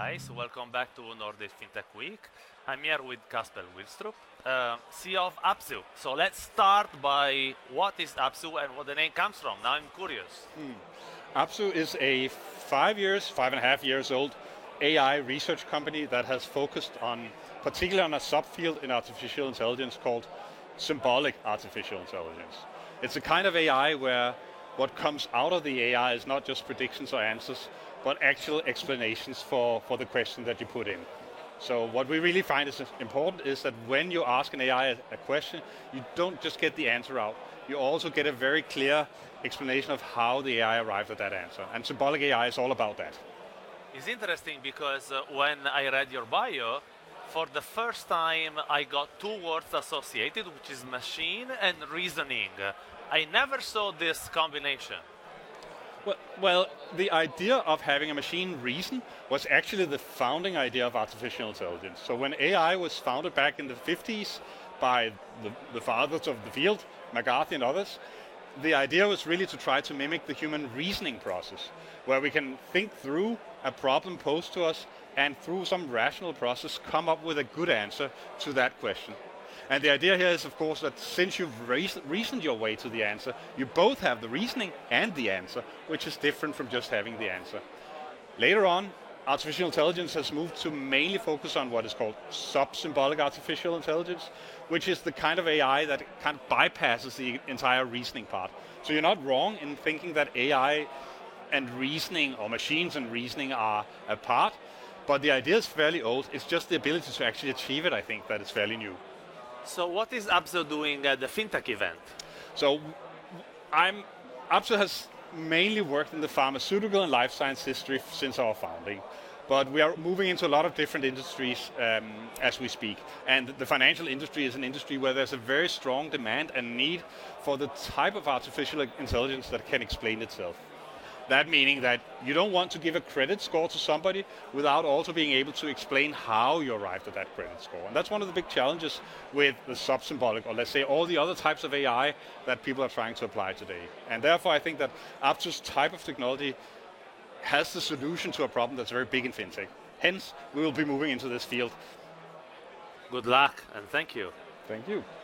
guys. Welcome back to Nordic FinTech Week. I'm here with Kasper Wilstrup, CEO of Apsu. So let's start by what is Apsu and what the name comes from. Now I'm curious. Apsu is a 5.5 years old AI research company that has focused on, particularly on a subfield in artificial intelligence called symbolic artificial intelligence. It's a kind of AI where what comes out of the AI is not just predictions or answers, but actual explanations for the question that you put in. So what we really find is important is that when you ask an AI a question, you don't just get the answer out, you also get a very clear explanation of how the AI arrived at that answer. And symbolic AI is all about that. It's interesting because when I read your bio, for the first time I got two words associated, which is machine and reasoning. I never saw this combination. Well, the idea of having a machine reason was actually the founding idea of artificial intelligence. So when AI was founded back in the 50s by the fathers of the field, McCarthy and others, the idea was really to try to mimic the human reasoning process, where we can think through a problem posed to us and through some rational process come up with a good answer to that question. And the idea here is, of course, that since you've reasoned your way to the answer, you both have the reasoning and the answer, which is different from just having the answer. Later on, artificial intelligence has moved to mainly focus on what is called sub-symbolic artificial intelligence, which is the kind of AI that kind of bypasses the entire reasoning part. So you're not wrong in thinking that AI and reasoning, or machines and reasoning, are apart, but the idea is fairly old. It's just the ability to actually achieve it, I think, that is fairly new. So what is Apsu doing at the FinTech event? So Apsu has mainly worked in the pharmaceutical and life science industry since our founding. But we are moving into a lot of different industries as we speak. And the financial industry is an industry where there's a very strong demand and need for the type of artificial intelligence that can explain itself. That meaning that you don't want to give a credit score to somebody without also being able to explain how you arrived at that credit score. And that's one of the big challenges with the sub-symbolic, or let's say all the other types of AI that people are trying to apply today. And therefore I think that Apsu's type of technology has the solution to a problem that's very big in FinTech. Hence, we will be moving into this field. Good luck and thank you. Thank you.